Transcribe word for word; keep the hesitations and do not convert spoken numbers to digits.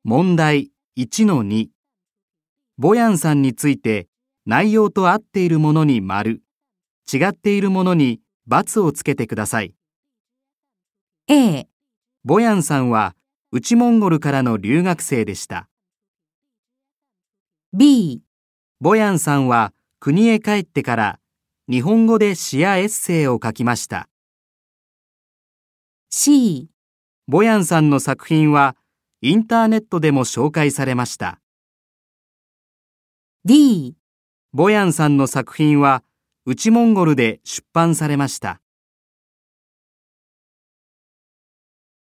問題 いちのに。ボヤンさんについて内容と合っているものに丸、違っているものに×をつけてください。 A、 ボヤンさんは内モンゴルからの留学生でした。 B、 ボヤンさんは国へ帰ってから日本語で詩やエッセイを書きました。 C、 ボヤンさんの作品はインターネットでも紹介されました。 D、 ボヤンさんの作品は内モンゴルで出版されました。